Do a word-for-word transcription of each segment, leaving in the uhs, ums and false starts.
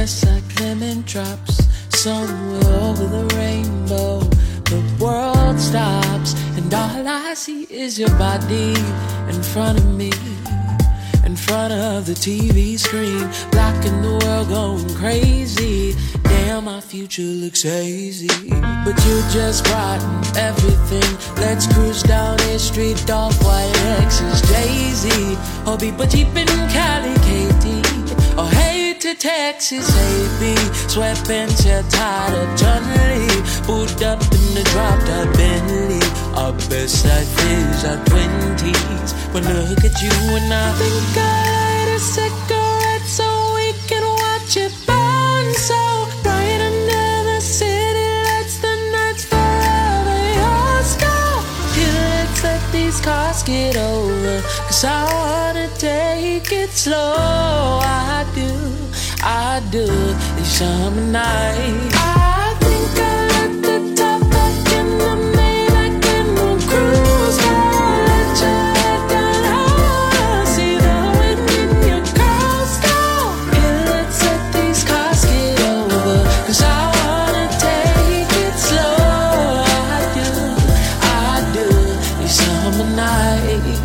just like lemon drops somewhere over the rainbow. The world stops and all I see is your body in front of me, in front of the T V screen, blocking the world, going crazy. Damn, my future looks hazy, but you just brighten everything. Let's cruise down the street, off-white Lexus, Jay-Z, or people cheap in Cali, K T, or hey to Texas, A B, sweatpants, you're tired of John Lee, boot up in the drop-top Bentley. Our best life is our twenties. When I look at you and I think I light a cigarette so we can watch it burn so bright under the city lights. The nights forever yours. Go, here, let's let these cars get over, 'cause I wanna take it slow. I do, I do, these summer nights. I think I let the top back in the Maybach and we'll cruise. Girl, let your head down low, see the wind in your curls. Go, here, let's let these cars get over, 'cause I wanna take it slow. I do, I do, these summer nights.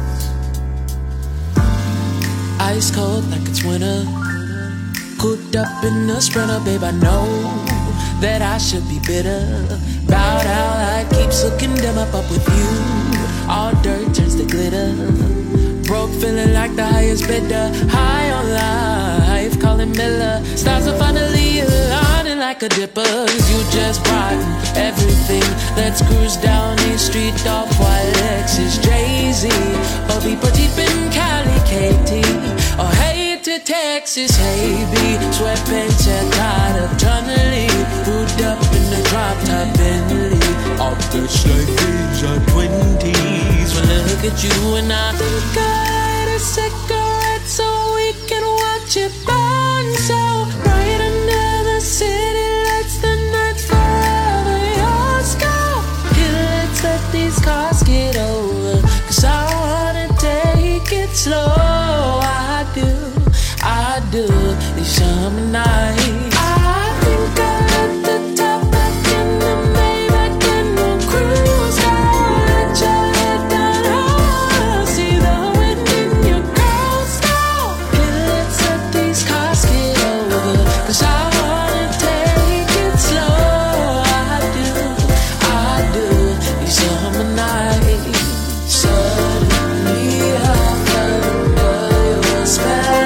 Ice cold like it's winter, cooped up in a Sprinter, babe, I know that I should be bitter about how life keeps looking dim up, up with you. All dirt turns to glitter, broke feeling like the highest bidder, high on life, calling Miller. Stars are finally aligning like a dipper, 'cause you just brighten everything. Let's cruise down the street, off-white Lexus, Jay-Z, or people deep in Cali, K T, or hey to Texas, hey B, sweatpants, you're tired of John Lee, boot up in the drop-top Bentley. Our best life is our twenties. When I look at you and I think I light a cigarette so we can watch it burn so bright under the city lights. The nights forever yours. Go, here, let's let these cars get over, 'cause I wanna take it slow. I do, I do, these summer nights. I think I let the top back in the Maybach and we'll cruise. Girl, let your head down low, see the wind in your curls. Go, here, let's let these cars get over, 'cause I wanna take it slow. I do, I do, these summer nights. Suddenly I fell under your spell.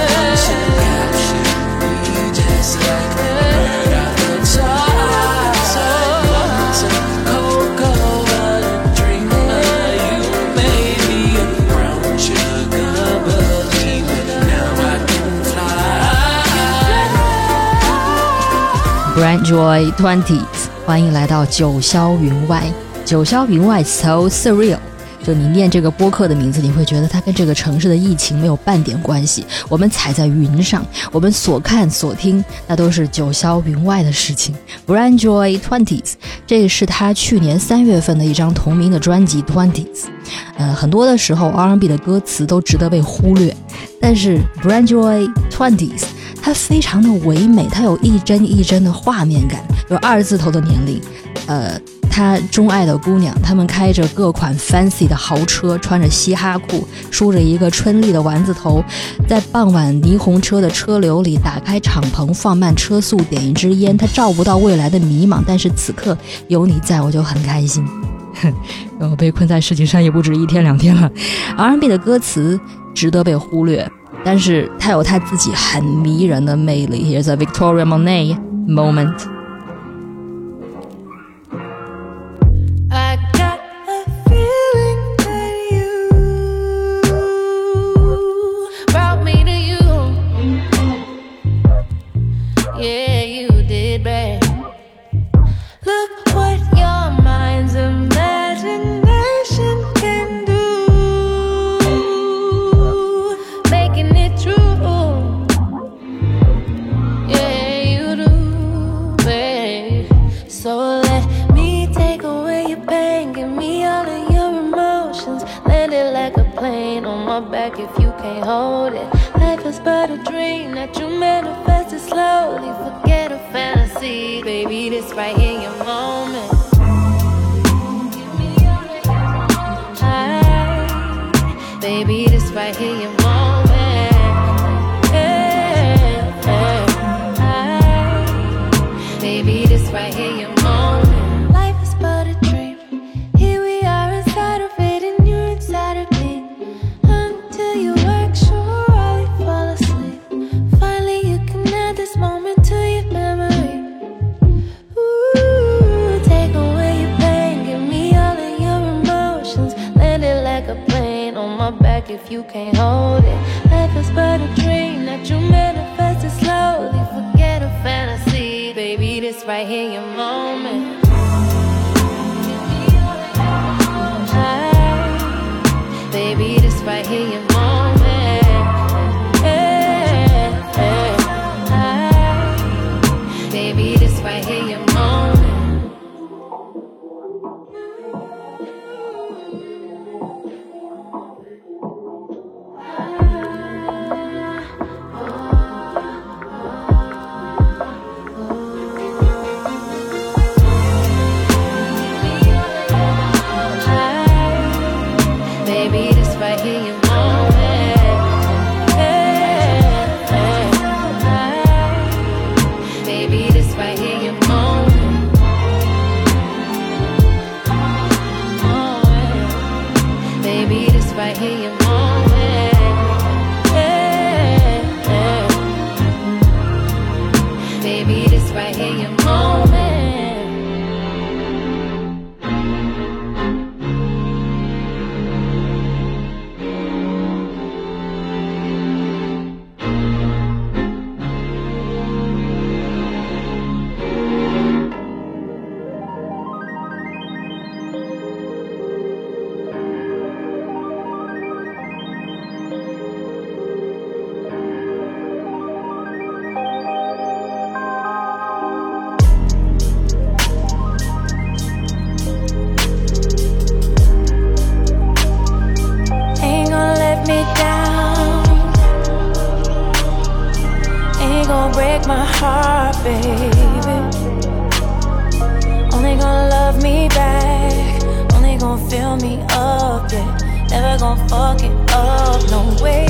Brand Joy twenties， 欢迎来到九霄云外。九霄云外 so surreal， 就你念这个播客的名字，你会觉得它跟这个城市的疫情没有半点关系。我们踩在云上，我们所看所听，那都是九霄云外的事情。Brand Joy twenties， 这是他去年三月份的一张同名的专辑 twenties。呃，很多的时候 R and B 的歌词都值得被忽略，但是 Brand Joy twenties。它非常的唯美，它有一帧一帧的画面感，有二字头的年龄，呃，他钟爱的姑娘，他们开着各款 fancy 的豪车，穿着嘻哈裤，梳着一个春丽的丸子头，在傍晚霓虹车的车流里打开敞篷，放慢车速，点一支烟。他照不到未来的迷茫，但是此刻有你在，我就很开心。我被困在世界上也不止一天两天了。R and B 的歌词值得被忽略，但是他有他自己很迷人的魅力。 Here's a Victoria Monet moment. I got a feeling that you brought me to you. Yeah, you did, babe. Look what your mind's imagination can do, making it true. Yeah, you do, babe. So let me take away your pain, give me all of your emotions. Land it like a plane on my back if you can't hold it. Life is but a dream that you manifest. It's love this right here your moment. I, baby, this right here your moment. Yeah, yeah. I, baby, this right here your moment. Life is but a dream. Here we are inside of it, and you're inside of me. Until you work, sure I'll fall asleep. Finally, you can add this moment to your memory. Ooh, take away your pain, give me all of your emotions. Land it like a plane on my back if you can't hold it. Life is but a dream that you manifested slowly. Forget a fantasy, baby, this right here your moment. I, baby, this right here your moment. Yeah, yeah. I, baby, this right here your moment. Baby, this right here your moment. Yeah, yeah. Baby, this right here your moment. Oh, yeah. Baby, this right here your moment. Yeah, yeah. Baby, this right here your moment. Ain't gonna let me down. Ain't gonna break my heart, baby. Only gonna love me back. Only gonna fill me up, yeah. Never gonna fuck it up, no way.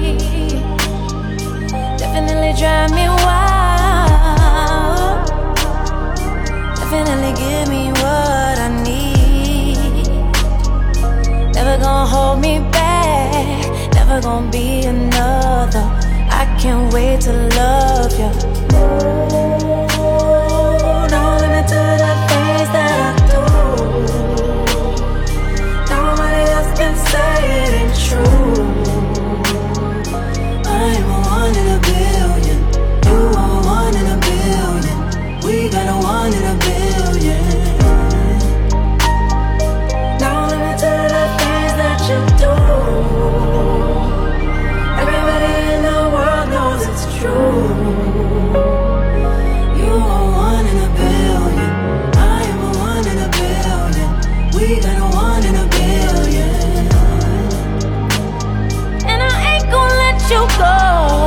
Definitely drive me wild. Definitely give me what I need. Never gonna hold me back. Never gonna be another. I can't wait to love you. No limit to the things that I do. Nobody else can say it ain't true. I'm a one in a billion. You are one in a billion. We got a one in a billion. No limit to the things that you do. Everybody in the world knows it's true. You are one in a billion. I am a one in a billion. We got a one in a billion. And I ain't gonna let you go.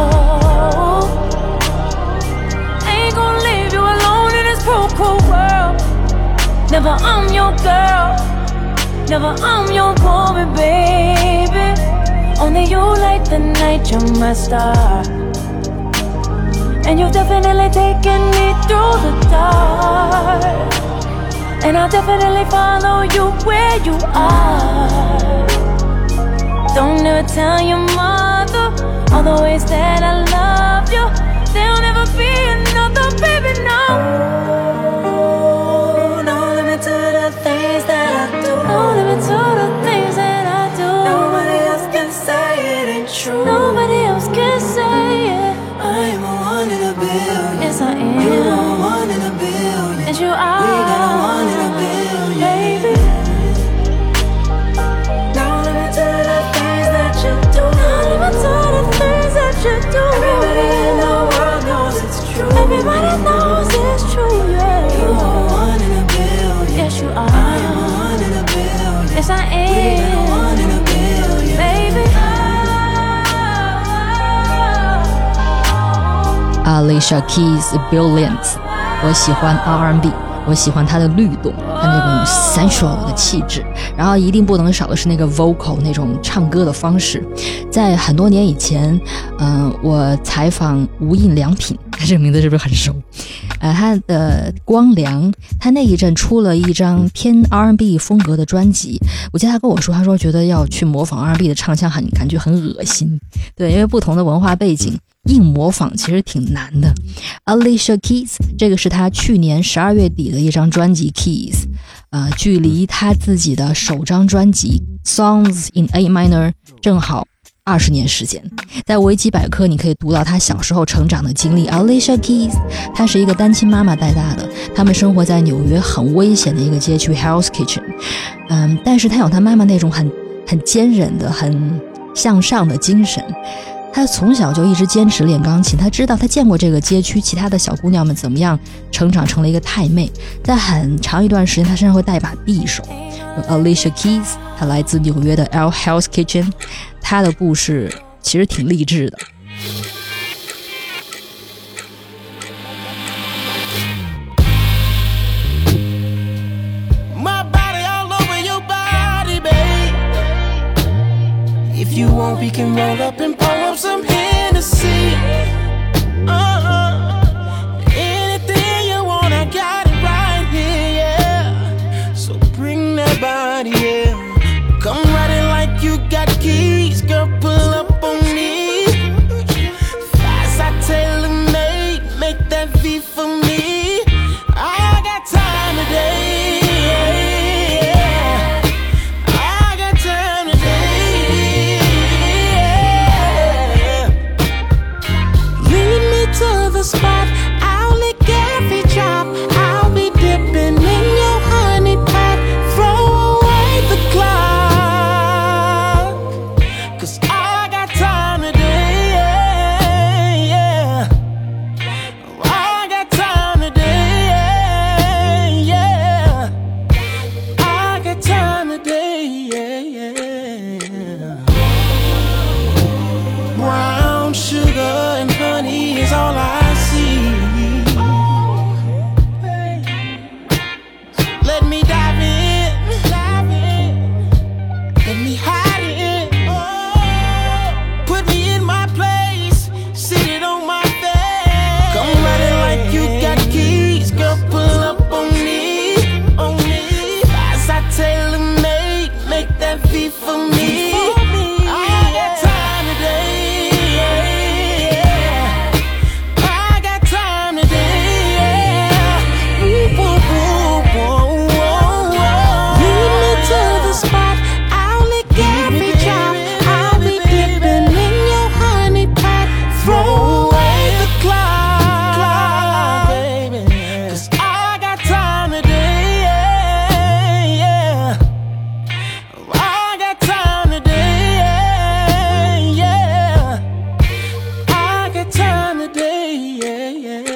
Ain't gonna leave you alone in this cruel, cruel world. Never I'm your girl. Never I'm your woman, baby. Only you light the night, you're my star. And you've definitely taken me through the dark. And I'll definitely follow you where you are. Don't ever tell your mother all the ways that I love you. There'll never be another, baby, no. No limit to the things that I do. No limit to the things that I do. Nobody else can say it ain't true. Nobody else can say it. I am a one in a billion. Yes, I am. You are one in a billion. Yes, you are. We got a one in a billion, baby. No limit to the things that you do. No limit to the things that you do. Everybody in the world knows it's true. Everybody knows it's true, yeah. You are one in a billion. Yes, you are. I am a one in a billion. Yes, I am. We got a one in a billion, baby. Alicia Keys' Billions 我喜欢 R and B， 我喜欢它的律动，它那种 sensual 的气质，然后一定不能少的是那个 vocal 那种唱歌的方式。在很多年以前，嗯、呃，我采访无印良品，他这个名字是不是很熟？呃，他的光良，他那一阵出了一张偏 R and B 风格的专辑，我记得他跟我说，他说觉得要去模仿 R and B 的唱腔很感觉很恶心，对，因为不同的文化背景，硬模仿其实挺难的。Alicia Keys， 这个是他去年十二月底的一张专辑 Keys， 呃，距离他自己的首张专辑 Songs in A Minor 正好二十年时间。在维基百科你可以读到她小时候成长的经历。 Alicia Keys 她是一个单亲妈妈带大的，他们生活在纽约很危险的一个街区 Hell's Kitchen， 嗯，但是她有她妈妈那种很很坚韧的很向上的精神，她从小就一直坚持练钢琴，她知道她见过这个街区其他的小姑娘们怎么样成长成了一个太妹，在很长一段时间她身上会带把匕首。Alicia Keys 她来自纽约的 Hell's Kitchen， 她的故事其实挺励志的。 If you want, we can roll up and pour up some Hennessy. Uh-uh. Anything you want, I got it right here, yeah. So bring that body, yeah. Come riding like you got keys, girl, pull up on me. Fast, I tailor-made, make that V for me. I got time today. To the spot, I'll lick every drop. I'll be dipping in your honey pot. Throw away the clock, 'cause I got time today, yeah, yeah. I got time today, yeah, yeah. I got time today, yeah, yeah. Brown sugar and honey is all I see. Let me dive in, dive in. Let me hide it. Oh, put me in my place, sit it on my face. Come running like you got keys, girl, pull up on me, on me. Fast, I tailor-made, make that V for me. I got time today, yeah. I got time today, yeah. Ooh, ooh, ooh, ooh, ooh, ooh. Lead me to the spot, I'll lick every drop. I'll be dipping in your honey pot. Throw away the clock, baby, 'cause I got time today, yeah, yeah. I got time today, yeah, yeah. I got time today, yeah, yeah.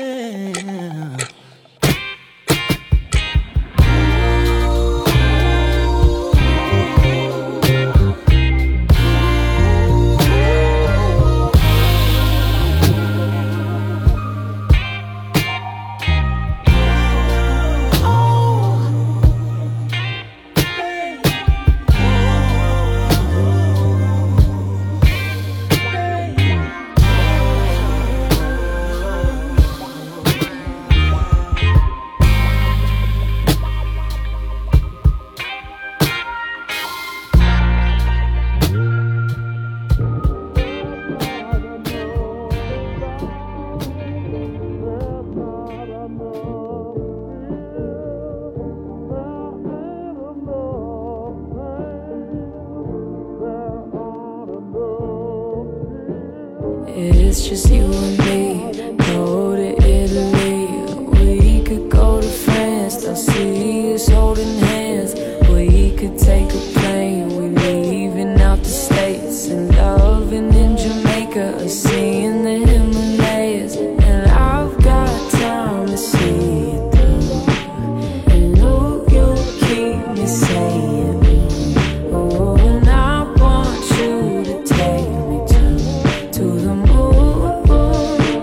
It's just you and me, go to Italy. We could go to France, they'll see us holding hands. We could take a plane, we leaving out the States. And loving in Jamaica, or seeing the Himalayas. And I've got time to see it through. And oh, you'll keep me saying, oh, and I want you to take me to, to the moon.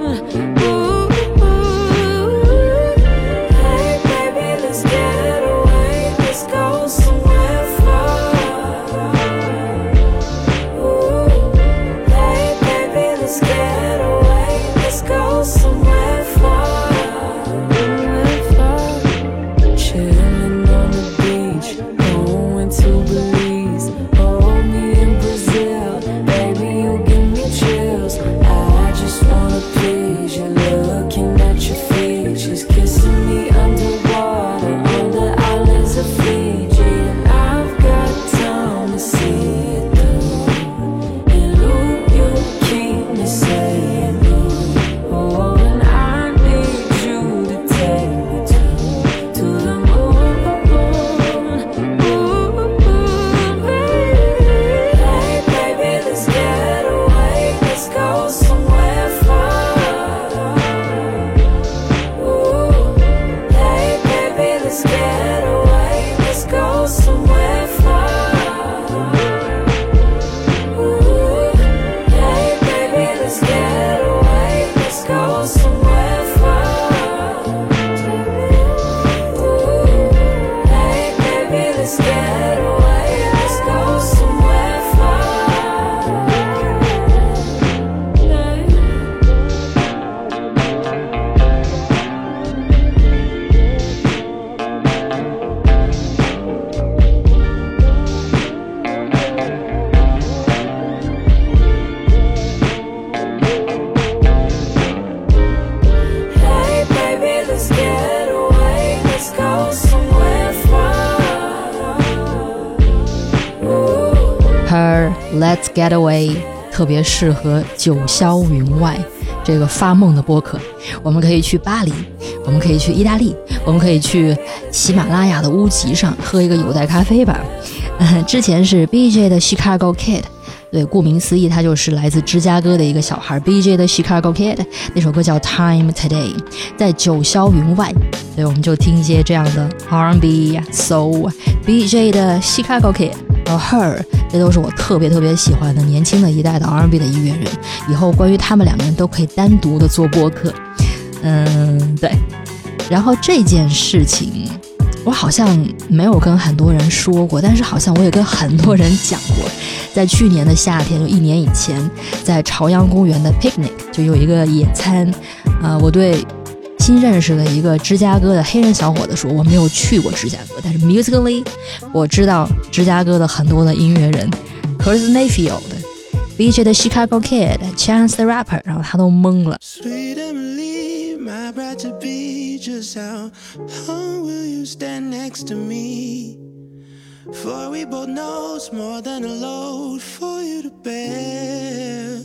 Let's Get Away 特别适合九霄云外这个发梦的播客。我们可以去巴黎，我们可以去意大利，我们可以去喜马拉雅的屋脊上喝一个有袋咖啡吧。呃、之前是 B J 的 Chicago Kid， 对，顾名思义他就是来自芝加哥的一个小孩。 B J 的 Chicago Kid 那首歌叫 Time Today。 在九霄云外，所以我们就听一些这样的 R and B Soul。 B J 的 Chicago Kid 和 Her， 这都是我特别特别喜欢的年轻的一代的 R and B 的音乐人。以后关于他们两个人都可以单独的做播客。嗯，对。然后这件事情我好像没有跟很多人说过，但是好像我也跟很多人讲过。在去年的夏天，就一年以前，在朝阳公园的 picnic 就有一个野餐。呃，我对新认识的一个芝加哥的黑人小伙子说，我没有去过芝加哥，但是 musically 我知道芝加哥的很多的音乐人 Curtis Mayfield、B J 的 Chicago Kid、Chance the Rapper， 然后他都懵了。 Sweet Emily, my bride to be, just how long will you stand next to me? For we both know it's more than a load for you to bear.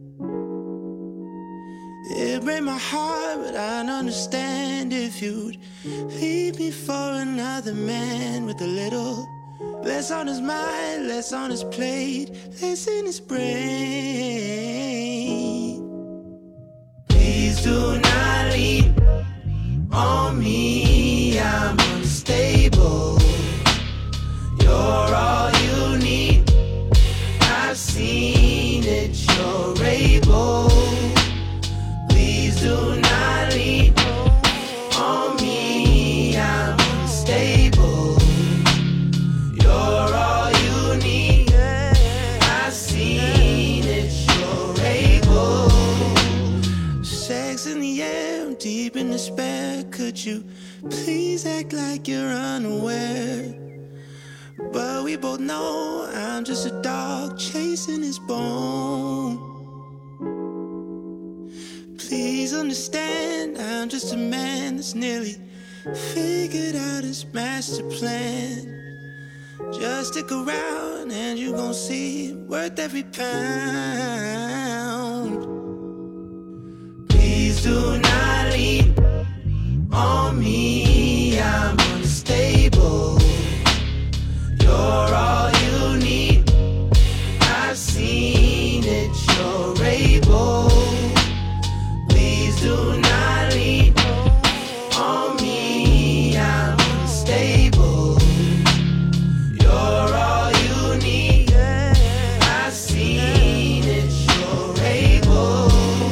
It breaks my heart, but I'd understand if you'd leave me for another man with a little less on his mind, less on his plate, less in his brain. Please do not lean on me, I'm unstable. You're all you need, I've seen it, you're able. Please do not lean on me, I'm unstable. You're all you need, I've seen it, you're able. Sex in the air, deep in despair. Could you please act like you're unaware? But we both know I'm just a dog chasing his bone. Please understand, I'm just a man that's nearly figured out his master plan. Just stick around and you gon' see worth every pound. Please do not lean on me, I'm unstable. You're all you need, I've seen it, you're able. Please do not lean on me, I'm unstable. You're all you need, I've seen it, you're able.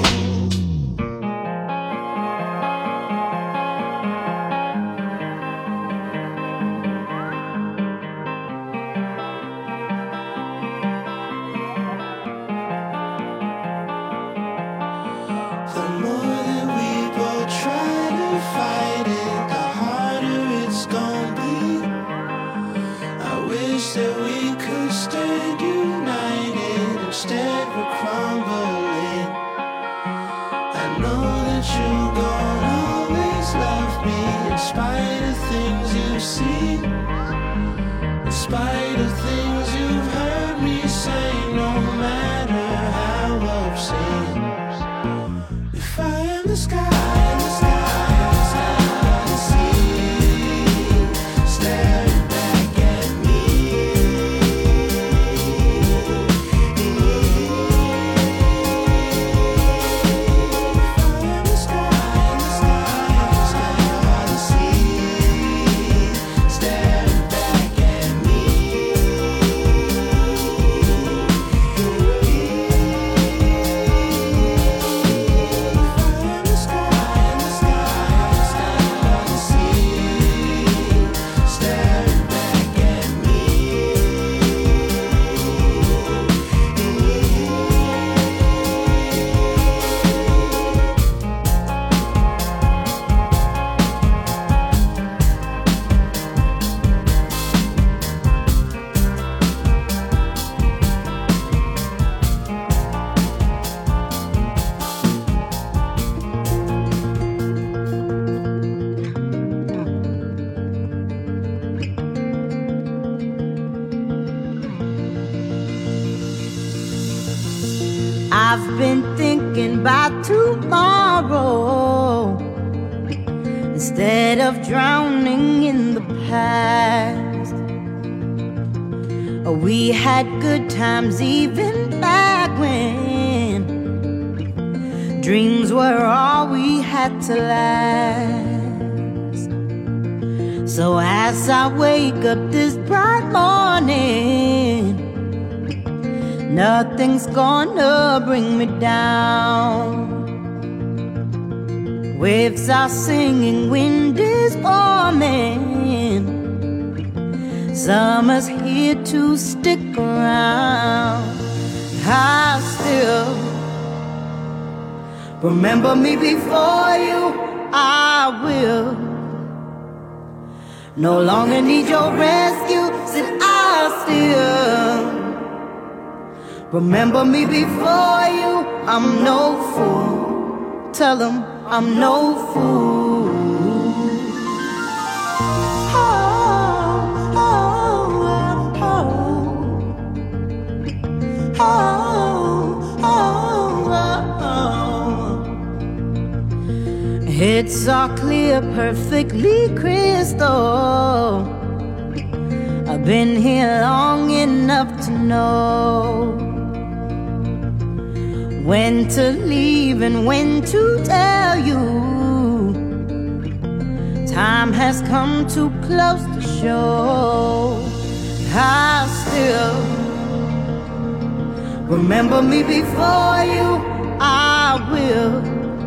The more that we both try to fight it, the harder it's gonna be. I wish that we could stand united, instead we're crumbling. I know that you gon' always love me, in spite of things you've seen, in spite of things you've heard me say, no matter how obscene. If I am the sky, the stars I see, staring back at me. If I am the sky, the stars I see, staring back at me. been thinking about tomorrow instead of drowning in the past. We had good times even back when dreams were all we had to last. So as I wake up this bright morning, nothing's gonna bring me down. Waves are singing, wind is forming, summer's here to stick around. I still remember me before you, I will no longer need your rescue. Said I still remember me before you. I'm no fool, tell them I'm no fool. Oh, oh, oh, oh, oh, oh. It's all clear, perfectly crystal. I've been here long enough to know when to leave and when to tell you. Time has come too close to show. I still remember me before you, I will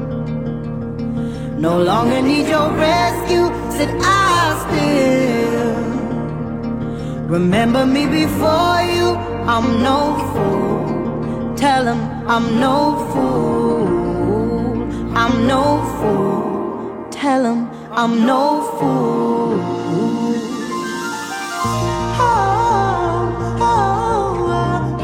no longer need your rescue. Said I still remember me before you. I'm no fool, tell him I'm no fool. I'm no fool, tell him I'm no fool. Oh, oh, oh,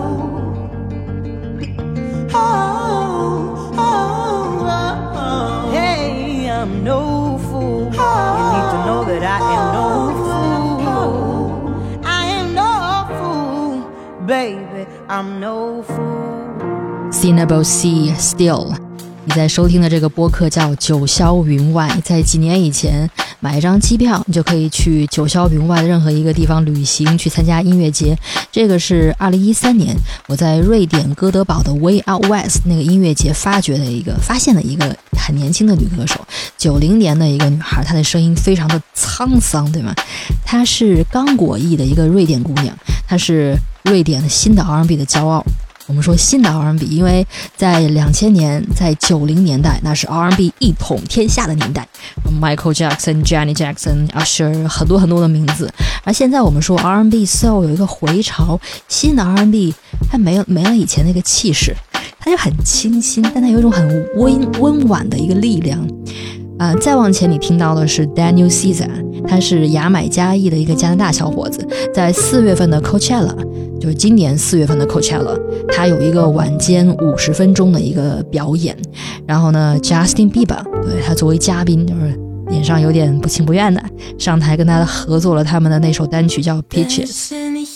oh, oh, oh. Hey, I'm no fool. You need to know that I am no fool. I am no fool, baby, I'm no fool. Cinnable Sea Still。 你在收听的这个播客叫九霄云外，在几年以前买一张机票，你就可以去九霄云外的任何一个地方旅行，去参加音乐节。这个是二零一三年我在瑞典哥德堡的 Way Out West 那个音乐节发掘的一个发现的一个很年轻的女歌手，九零年的一个女孩，她的声音非常的沧桑，对吗？她是刚果裔的一个瑞典姑娘，她是瑞典的新的 R and B 的骄傲。我们说新的 R and B， 因为在两千年，在九零年代，那是 R and B 一统天下的年代 ，Michael Jackson、Janet Jackson、Usher 很多很多的名字。而现在我们说 R and B Soul 有一个回潮，新的 R and B 它没有没了以前那个气势，它就很清新，但它有一种很温温婉的一个力量。呃，再往前你听到的是 Daniel Caesar， 他是牙买加裔的一个加拿大小伙子，在四月份的 Coachella， 就是今年四月份的 Coachella， 他有一个晚间五十分钟的一个表演。然后呢 Justin Bieber， 对，他作为嘉宾，就是脸上有点不情不愿的上台跟他合作了他们的那首单曲叫 Peaches。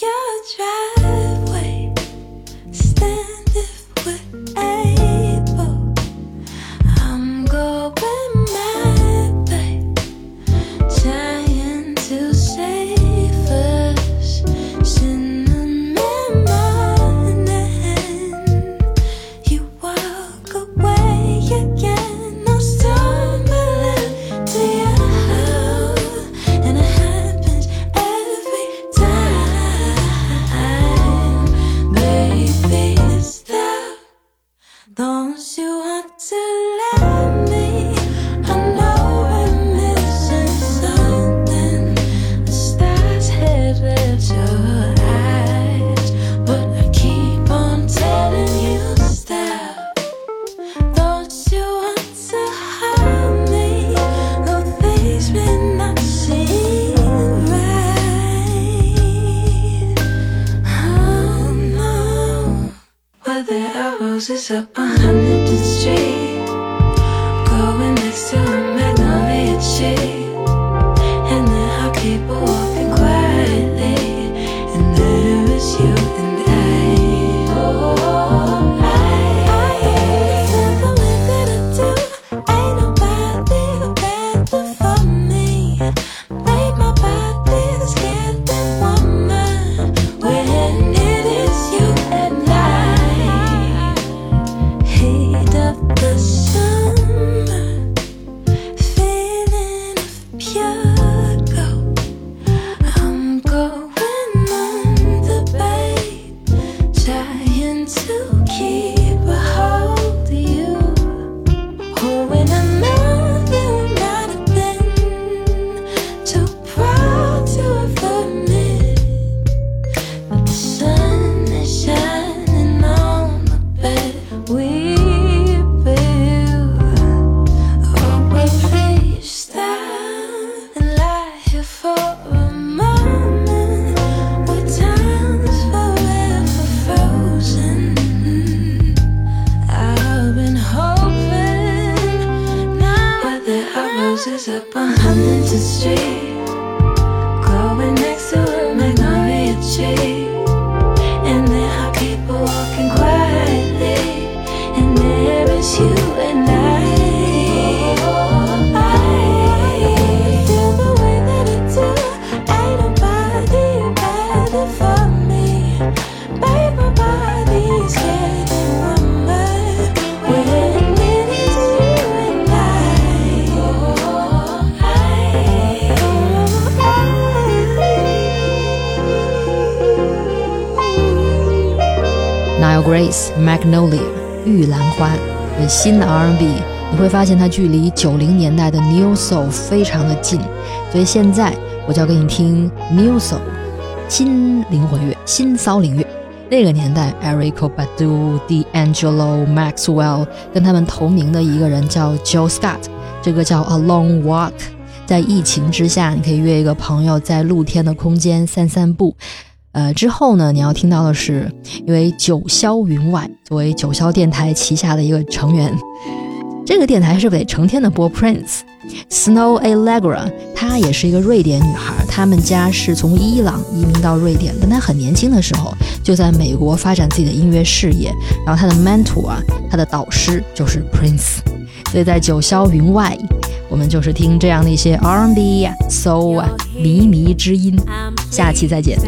Roses up on Huntington Street, going next to a magnolia tree, and then I'll keep walking quietly, and there is you and I. Oh, I, Roses up on Huntington Street, growing next to a magnolia tree. And there are people walking quietly, and there is you and I. I feel the way that I do. Ain't nobody better for me. Babe, my body's getting warmer when it is you and I. Nile Grace Magnolia 玉兰花，对新的 R and B 你会发现它距离九零年代的 New Soul 非常的近，所以现在我就要给你听 New Soul 新灵魂乐、新骚灵乐。那个年代 Erykah Badu、D'Angelo、Maxwell 跟他们同名的一个人叫 Joe Scott， 这个叫 A Long Walk。 在疫情之下，你可以约一个朋友在露天的空间散散步。呃，之后呢，你要听到的是因为九霄云外作为九霄电台旗下的一个成员，这个电台是得成天的播 Prince。 Snow Allegra 她也是一个瑞典女孩，他们家是从伊朗移民到瑞典，但她很年轻的时候就在美国发展自己的音乐事业，然后她的 mentor 啊，她的导师就是 Prince。 所以在九霄云外，我们就是听这样的一些 R and B 啊 Soul 啊靡靡之音。下期再见。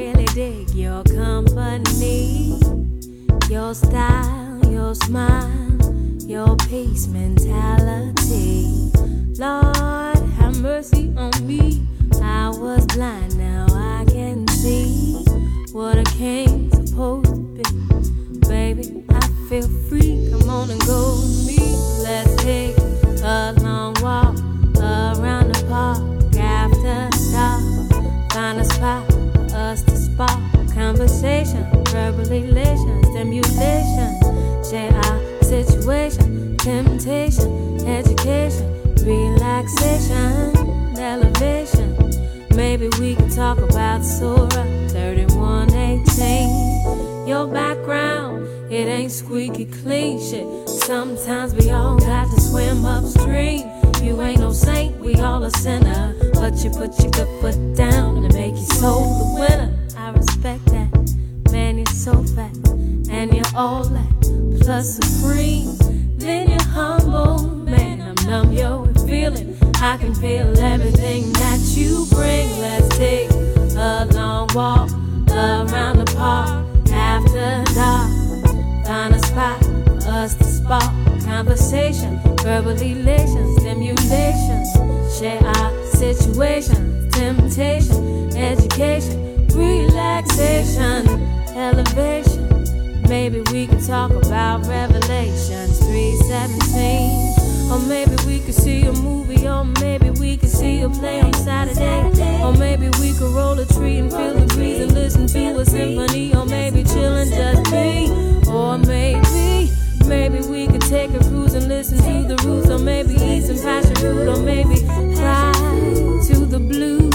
Your company, your style, your smile, your peace mentality. Lord, have mercy on me. I was blind, now I can see what a king's supposed to be. Baby, I feel free. Come on and go with me. Let's take a long walk around the park after dark. Find a spot for us to spark conversation, verbal elation, stimulation, share our situation, temptation, education, relaxation, elevation. Maybe we can talk about Surah thirty-one eighteen. Your background, it ain't squeaky clean shit. Sometimes we all got to swim upstream. You ain't no saint, we all a sinner, but you put your good foot down and make your soul the winner. I respect that, man, you're so fat, and you're all that, plus supreme. Then you're humble, man, I'm numb, yo, feeling. I can feel everything that you bring. Let's take a long walk around the park after dark. Find a spot for us to spark conversation, verbal elation, stimulation, share our situation, temptation, education, relaxation, elevation. Maybe we could talk about Revelations three seventeen. Or maybe we could see a movie, or maybe we could see a play on Saturday. Or maybe we could roll a tree and feel the breeze and listen to a symphony. Or maybe chill and just be. Or maybe, maybe we could take a cruise and listen to the roots. Or maybe eat some passion fruit. Or maybe fly to the blues.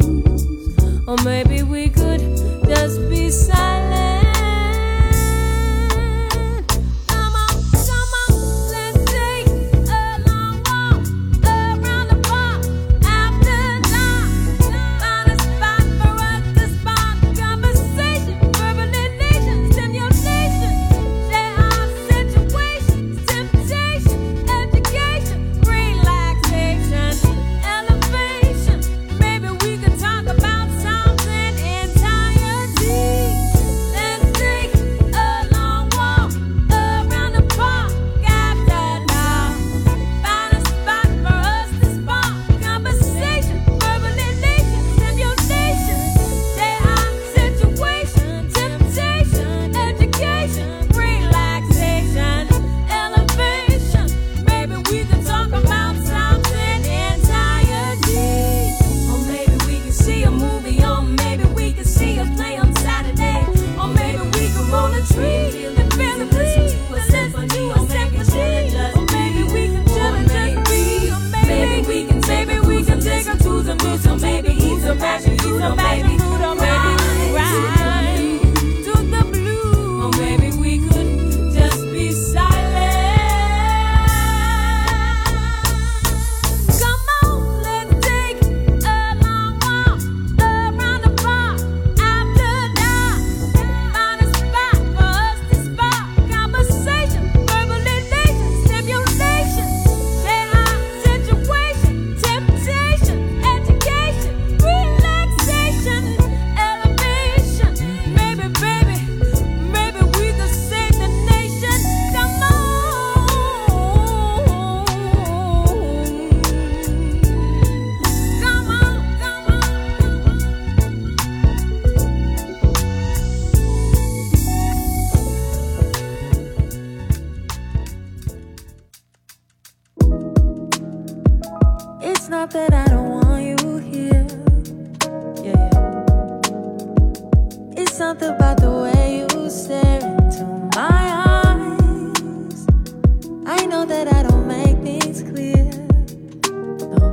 Or maybe we could just be silent. Come on, come on, let's take a long walk not that I don't want you here. Yeah, yeah. It's something about the way you stare into my eyes. I know that I don't make things clear. No.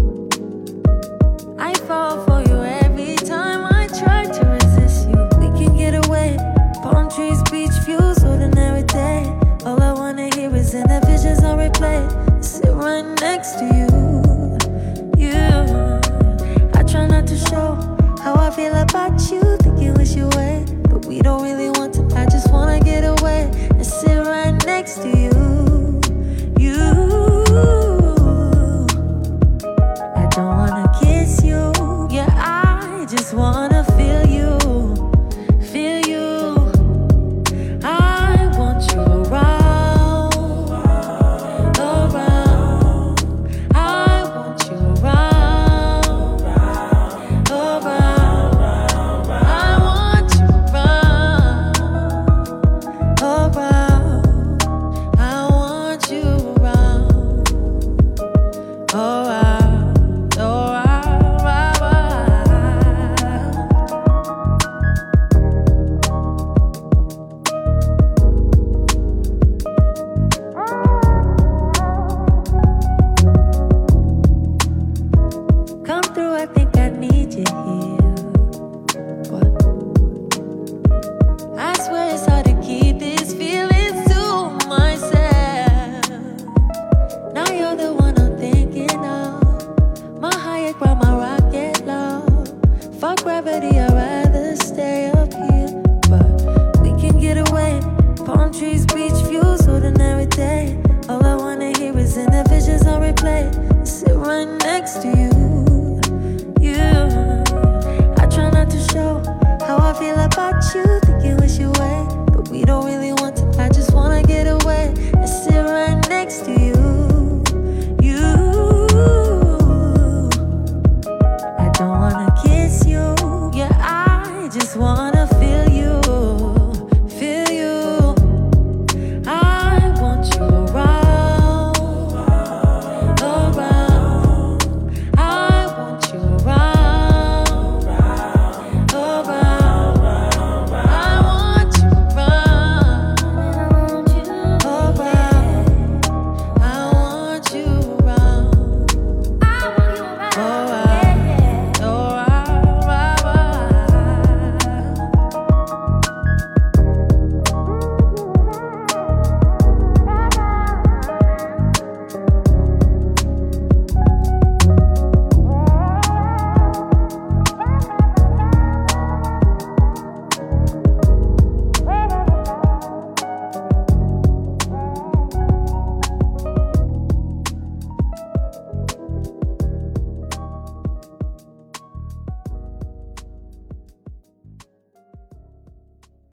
I fall for you every time I try to resist you. We can get away. Palm trees, beach views, ordinary day. All I wanna hear is in the visions on replay. I sit right next to you. Yeah. I try not to show how I feel about you. Think you wish you way, but we don't really want to. I just wanna get away and sit right next to you.